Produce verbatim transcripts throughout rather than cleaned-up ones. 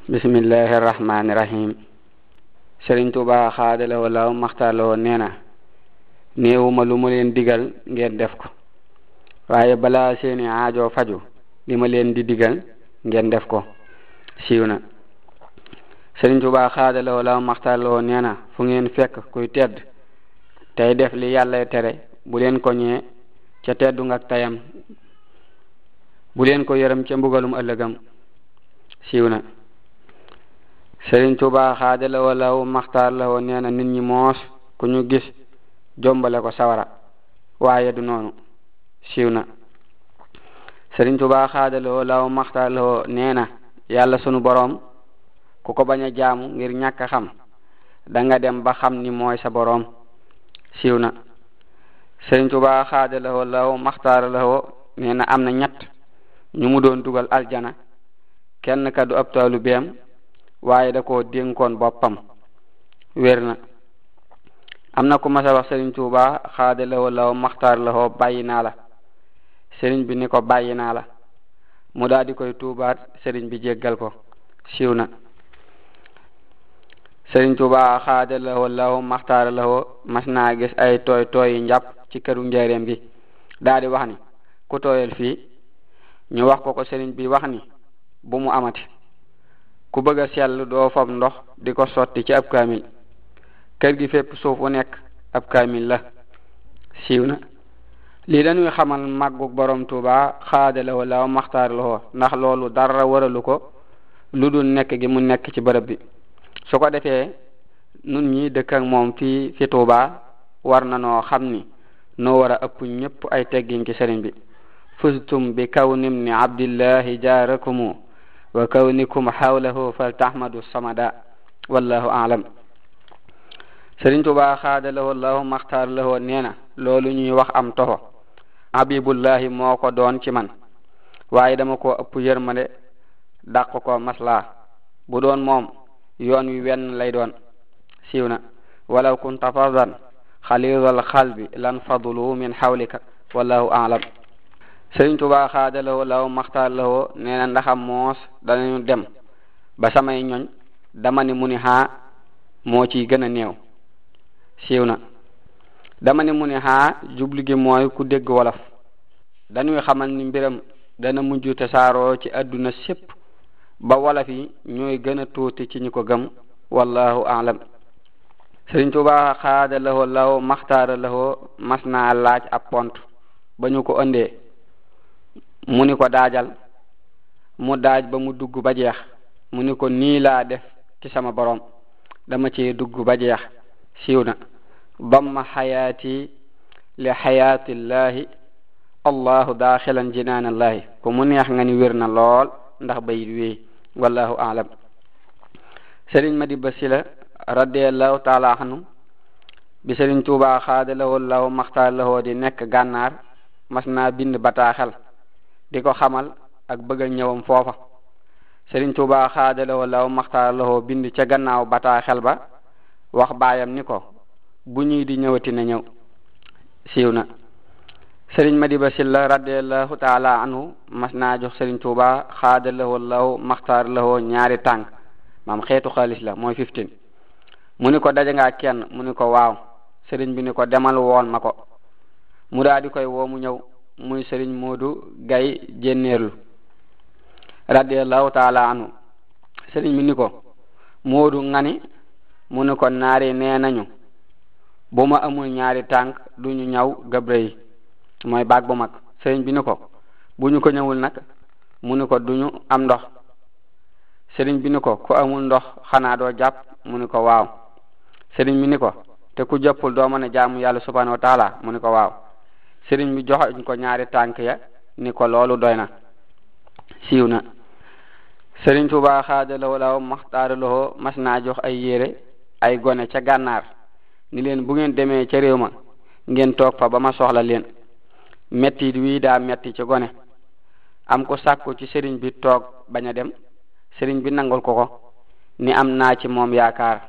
bismillahi rahmaani rahim. Sëriñ Tuubaa xaadalawoo law maxtaarlawoo nee na néewuma lu ma leen digal ngeen def ko, waaye balaa seeni aajo faju li ma leen di digal ngeen def ko. siiw na. Sëriñ Tuubaa xaadalawoo law maxtaarlawoo nee na fu ngeen fekk kuy tedd tey def li yàlla tere bu leen ko ñee ca teddu ngak tayam, bu leen ko yërëm ca mbugalum ëllëgam. siiw na. Sëriñ Tuubaa xaadalawoo law maxtaarlawoo nee na nit ñi moos ku ñu gis jombale ko sawara, waaye du noonu. siiw na. Sëriñ Tuubaa xaadalawoo law maxtaarlawoo nee na yàlla sunu boroom ku ko bañ a jaamu ngir ñàkk a xam danga dem ba xam ni mooy sa boroom. siiw na. Sëriñ Tuubaa xaadalawoo law maxtaarlawoo nee na am na ñett ñu mu doon dugal aljana, kenn ka du ab taalibeem waaye da koo dénkoon boppam. wér na. am na ku masa wax Sëriñ Tuubaa xaadalawoo law maxtaarlawoo bàyyi naa la. sëriñ bi ni ko bàyyi naa la, mu daal di koy tuubaat, sëriñ bi jéggal ko. siiw na. Sëriñ Tuubaa xaadalawoo law maxtaarlawoo mas naa gis ay tooy tooyi njàpp ci këru njaareem gi, daal di wax ni ku tooyal fii. ñu wax ko ko, sëriñ bi wax ni bu mu amati. ku bëgg a sell doo fob ndox di ko sotti ci ab kaamil, kër gi fépp suuf wu nekk ab kaamil la. siiw na. lii dañuy xamal màggug borom Tuubaa xaadalawoo law maxtaarlawoo, ndax loolu dara waralu ko lu dul nekk gi mu nekk ci bërëb bi. su ko defee nun ñi dëkk ak moom fii fi Tuubaa war na noo xam ni noo war a ëpp ñëpp ay teggin ci sëriñ bi. fustum bi kawnim ni abdillahi jaarakumu wa kawnikum xawlahu faltahmadu samada, wallahu aalam. Sëriñ Tuubaa xaadalawoo law maxtaarlawoo nee na loolu ñuy wax am toxo habibullahi moo ko doon ci man, waaye dama ko ëpp yërmande dàq ko maslaa. bu doon moom yoon wi wenn lay doon. siiw na. walaw kunta fadan xalidal xalbi lan fadlu min xawlika, wallahu aalam. Sëriñ Tuubaa xaadalawoo law maxtaarlawoo nee na ndaxam moos danañu dem ba samay ñoñ dama ni mu ni xaa moo ciy gën a néew. siiw na. dama ni mu ni xaa jublu gi mooy ku dégg wolof. dañuy xamal ni mbiram dana mujj tasaaroo ci adduna sépp ba wolof yi ñooy gën a tuuti ci ñi ko gëm, wallahu aalam. Sëriñ Tuubaa xaadalawoo law maxtaarlawoo mas naa laaj ab pont, ba ñu ko ëndee mu ni ko daajal. mu daaj ba mu dugg ba jeex, mu ni ko nii laa def ci sama borom, dama ci dugg ba jeex. siiw na. damma xayaati li xayaatillahi allahu daaxilan jinaanallahi, ku mu neex nga ni wér na lool ndax bayit wéy, wallahu aalam. Sëriñ Madiba Sila radiallahu taala anhu bi Sëriñ Tuubaa xaadalawoo law maxtaarlawoo di nekk gànnaar mas naa bind bataaxel di ko xamal ak bëgg a ñëwam foofa. Sëriñ Tuubaa xaadalawoo law maxtaarlawoo bind ca gannaaw bataaxel ba wax baayam ni ko bu ñuy di ñëwati na ñëw. siiw na. Sëriñ Madiba Silla radiallahu taala anhu mas naa jox Sëriñ Tuubaa xaadalawoo law maxtaarlawoo ñaari tànk, maam xeetu xaalis la mooy fifteen. mu ni ko daje ngaa kenn, mu ni ko waaw. sëriñ bi ni ko demal wool ma ko. mu daal di koy woo mu ñëw, muy Sëriñ Moodu Gay Jenneerlu radiallahu taala anhu. sëriñ bi ni ko Moodu ngani, mu ni ko naari nee nañu bu ma amul ñaari tànk duñu ñaw gabre yi, mooy baag bu mag. sëriñ bi ni ko bu ñu ko ñëwul nag, mu ni ko duñu am ndox. sëriñ bi ni ko ku amul ndox xanaa doo jàpp, mu ni ko waaw. sëriñ bi ni ko te ku jàppul doo mën a jaamu yàlla subhanahu wa taala, mu ni ko waaw. sëriñ bi joxoñ ko ñaari tànk ya ni ko loolu doy na. siiw na. Sëriñ Tuubaa xaadalawoo law maxtaarlawoo mas naa jox ay yére ay gone ca gànnaar ni leen bu ngeen demee ca réew ma ngeen toog fa ba ma soxla leen. metti wii daa metti ci gone. am ko sàkku ci sëriñ bi toog bañ a dem, sëriñ bi nangul ko ko ni am naa ci moom yaakaar.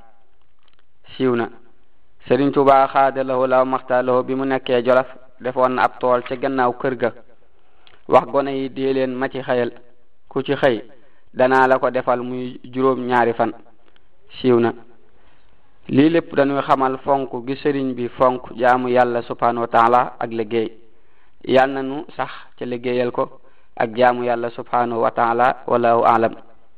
siiw na. Sëriñ Tuubaa xaadalawoo law maxtaarlawoo bi mu nekkee Jolof defoon na ab tool ca gannaaw kër ga, wax gone yi dee leen ma ci xëyal, ku ci xëy danaa la ko defal muy juróom ñaari fan siiw na. lii lépp dañuy xamal fonk gi sëriñ bi fonk jaamu yàlla subhanahu wa taala ak liggéey yal na nu sax ca liggéeyal ko ak jaamu yàlla subhanahu wa taala wallahu a'lam.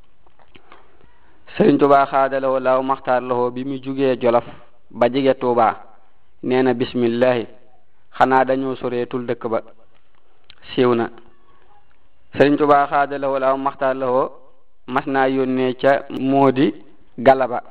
sëriñ Tuubaa xaadalawoo laaw maxtaar lawoo bi mu jugee Jolof ba jige Tuubaa nee na bismillahi xanaa dañoo soreetul dëkk ba siiw na. sëriñ Tuubaa xaadalawoo laaw maxtaar lawoo mas naa yónnee ca moodi Galaba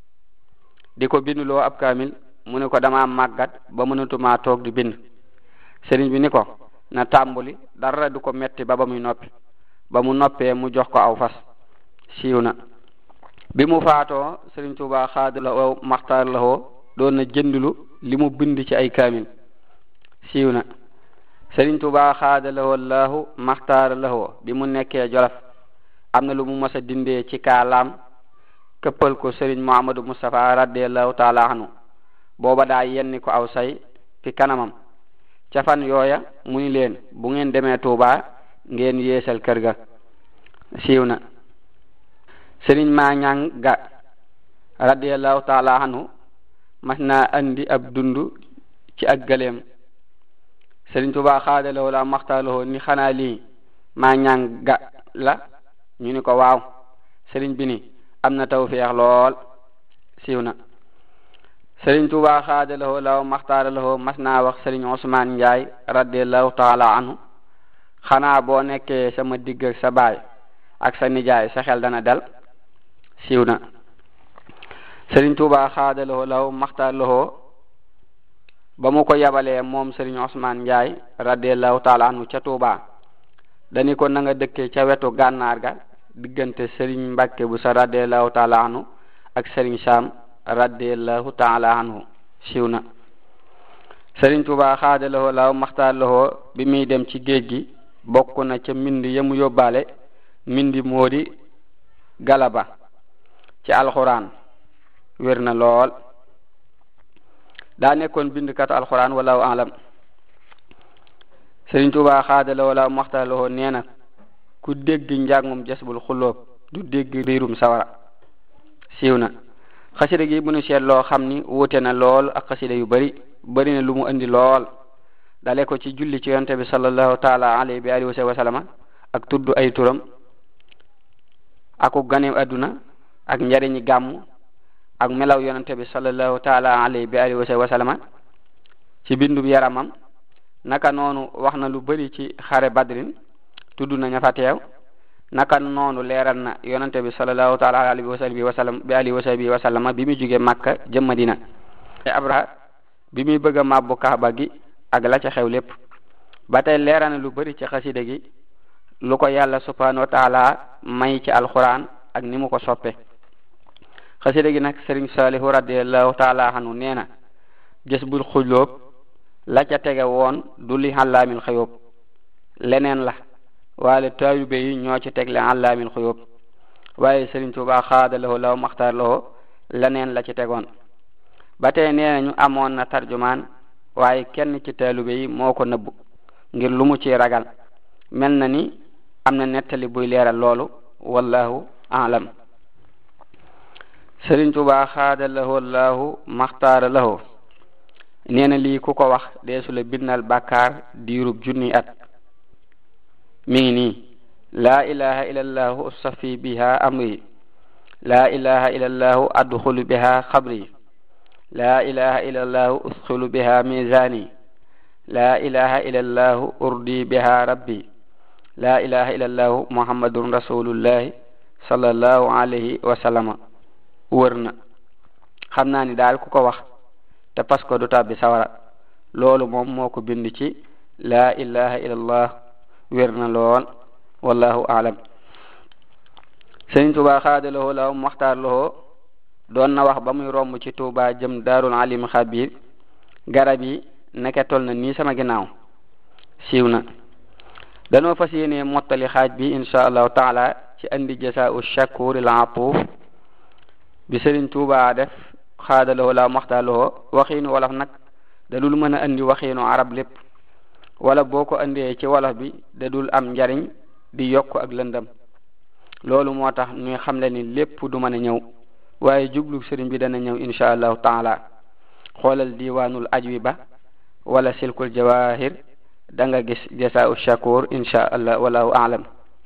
di ko binduloo ab kaamil mu ne ko dama màggat ba mënatumaa toog di bind. sëriñ bi ni ko na tàmbuli dara du ko metti ba ba muy noppi ba mu noppee mu jox ko aw fas siiw na. bi mu faatoo sëriñ Tuubaa xaadalawoo maxtaar lawoo doon na jëndulu li mu bind ci ay kaamil siiw na. sëriñ Tuubaa xaadalawoo laahu maxtaar lawoo bi mu nekkee Jolof am na lu mu mës a dindee ci kaalaam këppal ko sëriñ Muhammadu Mustafa radiyallahu taala anhu booba daa yenni ko aw say fi kanamam ca fan yooya mu ni leen bu ngeen demee Tuubaa ngeen yeesal kër ga siiw na. sëriñ Maañang Ga radiyallahu taala anhu mas naa andi ab dundu ci ak gëléem sëriñ Tuubaa xaadalawoo la maxtaaloo ni xanaa lii Maañang Ga la ñu ni ko waaw sëriñ bi ni am na tawfeex lool siiw na. sëriñ Tuubaa xaadalawoo la maxtaaralawoo mas naa wax sëriñ Usmaan Njaay radiyallahu taala anhu xanaa boo nekkee sama digg ak sa baay ak sa nijaay sa xel dana dal siiw na. sëriñ Tuubaa xaadalawoo la maxtaaralawoo ba mu ko yabalee moom sëriñ Usmaan Njaay radiyallahu taala anhu ca Tuubaa dani ko na nga dëkkee ca wetu gànnaar ga diggante sëriñ Mbàkke bu sa radiyallahu taala anhu ak sëriñ Saam radiyallahu taala anhu siiw na. sëriñ Tuubaa xaadalawoo la maxtaaralawoo bi muy dem ci géej gi bokk na ca mbind yamu yóbbaale mbindi moodi Galaba ci alxuraan wér na lool daa nekkoon bindkatu alxuraan wallahu a'lam. sëriñ Tuubaa xaadalawoo la maxtaaralawoo nee na ku dégg njàngum jasbul xulóob du dégg riirum sawara siiw na. xasida gi bu nu seet loo xam ni wuute na lool ak xasida yu bari bari na lu mu andi lool dale ko ci julli ci yonte bi sallallahu taala alayhi bi alihi wa sallama ak tudd ay turam aku ganeem adduna ak njariñi gàmmu ak melaw yonente bi sallallahu taala alayhi bi alihi wa sallama ci bindub yaramam naka noonu wax na lu bari ci xare badrin tudd na ña fa teew naka noonu leeral na yonente bi sallallahu taala alayhi wa sallam wa sallam bi alihi wa sahbihi wa sallama bi muy jóge Makka jëm Madina Abraha bi muy bëgg a màbbu Kaaba gi ak la ca xew lépp ba tey leeral na lu bari ci xasida gi lu ko yàlla subhanahu wa taala may ci alquran ak ni mu ko soppe xasida gi nag sëriñ Saalihu radiyallahu taala anhu nee na Jasbul Xulóob la ca tege woon du li Allaamil Xuyuub leneen la waale taalibe yi ñoo ci tegle Allaamil Xuyuub waaye sëriñ Tuubaa xaadalawoo law maxtaar lawoo leneen la ci tegoon ba tey nee na ñu amoon na tarjumaan waaye kenn ci taalibe yi moo ko nëbbu ngir lu mu ci ragal mel na ni am na nettali buy leeral loolu wallahu a'lam. sëriñ Tuubaa xaadalawoo laahu maxtaara lawoo nee na lii ku ko wax deesu la bindal bàkkaar diirub junni at mi ngi nii laa ilaha illallahu usafi biha amri laa ilaha illallahu adxulu biha xabri laa ilaha illallahu usxilu biha mizani laa ilaha illallahu urdi biha rabbi laa ilaha illallahu muhammadun rasulullahi sallallahu alayhi wa sallama wër na. xam naa ni daal ku ko wax te pas ko du tàbbi sawara loolu moom moo ko bind ci laa ilaha illallah wér na lool wallahu a'lam. sëriñ Tuubaa xaadalawoo law maxtaar lawoo doon na wax ba muy romb ci Tuubaa jëm daarul alim xabir garab yi neke tol na nii sama ginnaaw siiw na. danoo fas yéene mottali xaaj bi insha allahu taala ci andi jasaa'u shakuril atuuf bi sëriñ Tuubaa def xaadalawoo law maxtaar lawoo waxiinu wolof nag da dul mën a andi waxiinu arab lépp wala boo ko andee ci wolof bi da dul am njariñ di yokk ak lëndëm loolu moo tax ñuy xamle ni lépp du mën a ñëw waaye jublu sëriñ bi dana ñëw insha allahu taala xoolal diwaanul ajwiba wala silkul jawahir da nga gis jasaa'u shakur insha allah wallahu a'lam.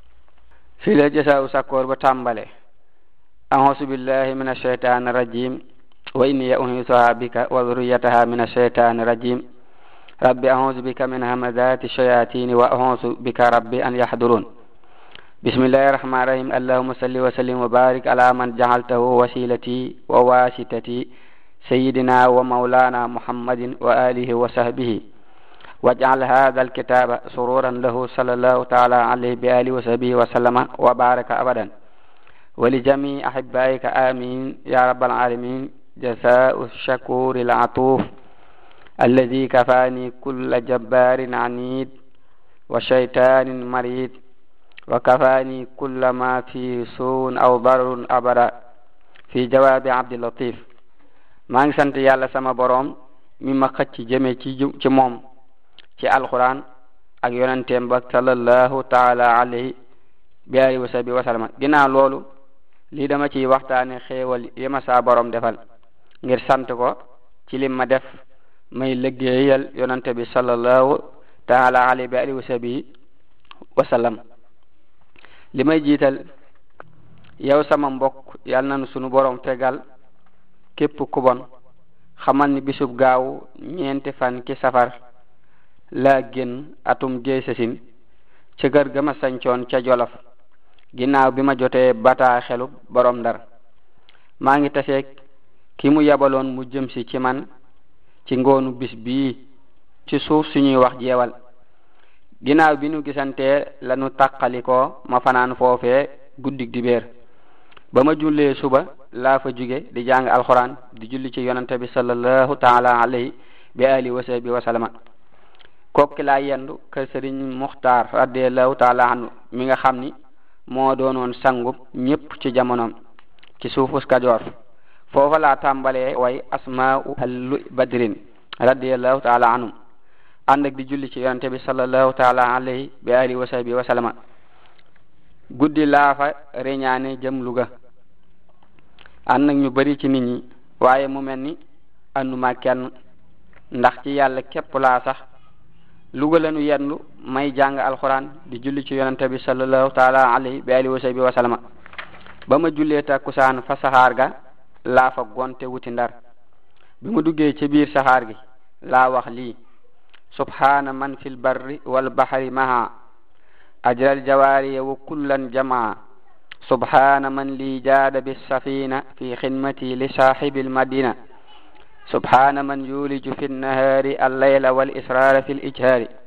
fii la jasaa'u shakur ba tàmbale a'uuzu billahi minash shaytaani rajim wa inni u'iizuha bika wa dhurriyyataha minash shaytaani rajim rabbi a'uuzu bika min hamazati shayatin wa a'uuzu bika rabbi an yahdurun. bismillahir rahmanir rahim allahumma salli wa sallim wa barik ala man ja'altahu wasilati wa wasitati sayyidina wa maulana muhammadin wa alihi wa sahbihi waj'al hadha alkitaba sururan lahu sallallahu ta'ala alayhi bi alihi wa sahbihi wa sallama wa baraka abadan wa li jami'i ahibbaika amin ya rabbal alamin. jazaa'u shakuri al-atuf alladhi kafani kulla jabbarin anid wa shaytanin marid wa kafani kulla ma fi suun aw darun abada fi jawaabi Abdul Latif. maa ngi sant yàlla sama boroom mi ma xëcc jëme ci ci moom ci alquran ak yonenteem ba sallallahu taala alayhi bi alihi wa sahbihi wa sallama. ginnaaw loolu lii dama ciy waxtaane xéewal yi ma saa boroom defal ngir sant ko ci lim ma def may liggéeyal yonente bi sallallahu taala alayhi bi alihi wa sahbihi wa sallam. li may jiital yow sama mbokk yal nanu sunu boroom tegal képp ku bon xamal ni bisub gaaw ñeenti fan ki safar laa génn atum géesasin ca kër ga ma sañcoon ca Jolof ginnaaw bi ma jotee bataa xelu borom Ndar. maa ngi taseeg ki mu yabaloon mu jëm si ci man ci ngoonu bis bii ci suuf suñuy wax jeewal. ginnaaw bi nu gisantee lanu tàqalikoo ma fanaan foofee guddig dibéer ba ma jullee suba laa fa jóge di jàng alxuraan di julli ci yonante bi sallallahu taala alayhi bi alihi wa sahbihi wa sallama. kokki laa yendu kër sëriñ Muxtaar radiyallahu taala anhu mi nga xam ni moo doonoon sangub ñépp ci jamonoom ci suufus Kajoor. foofa laa tàmbalee way asmaa'u ahlu badrin radiyallahu taala anhum ànd ak di julli ci yonante bi sallallahu taala alayhi bi alihi wa sahbihi wa sallama. guddi laa fa reñaane jëm Luga ànd ak ñu bari ci nit ñi waaye mu mel ni ànduma kenn ndax ci yàlla képp laa sax. Luga lañu yendu may jàng alxuraan di julli ci yonante bi sallallahu taala alayhi bi alihi wa sahbihi wa sallama. ba ma jullee takkusaan fa saxaar ga laa fa gonte wuti Ndar. bi ma duggee ci biir saxaar gi laa wax lii subhana man fil barri wal bahri maha ajral jawariya wa kullan jamaa subhana man li jaada bis safina fi khidmati li sahibil madina subhana man yuliju fi nahari al layla wal israra fil ijhari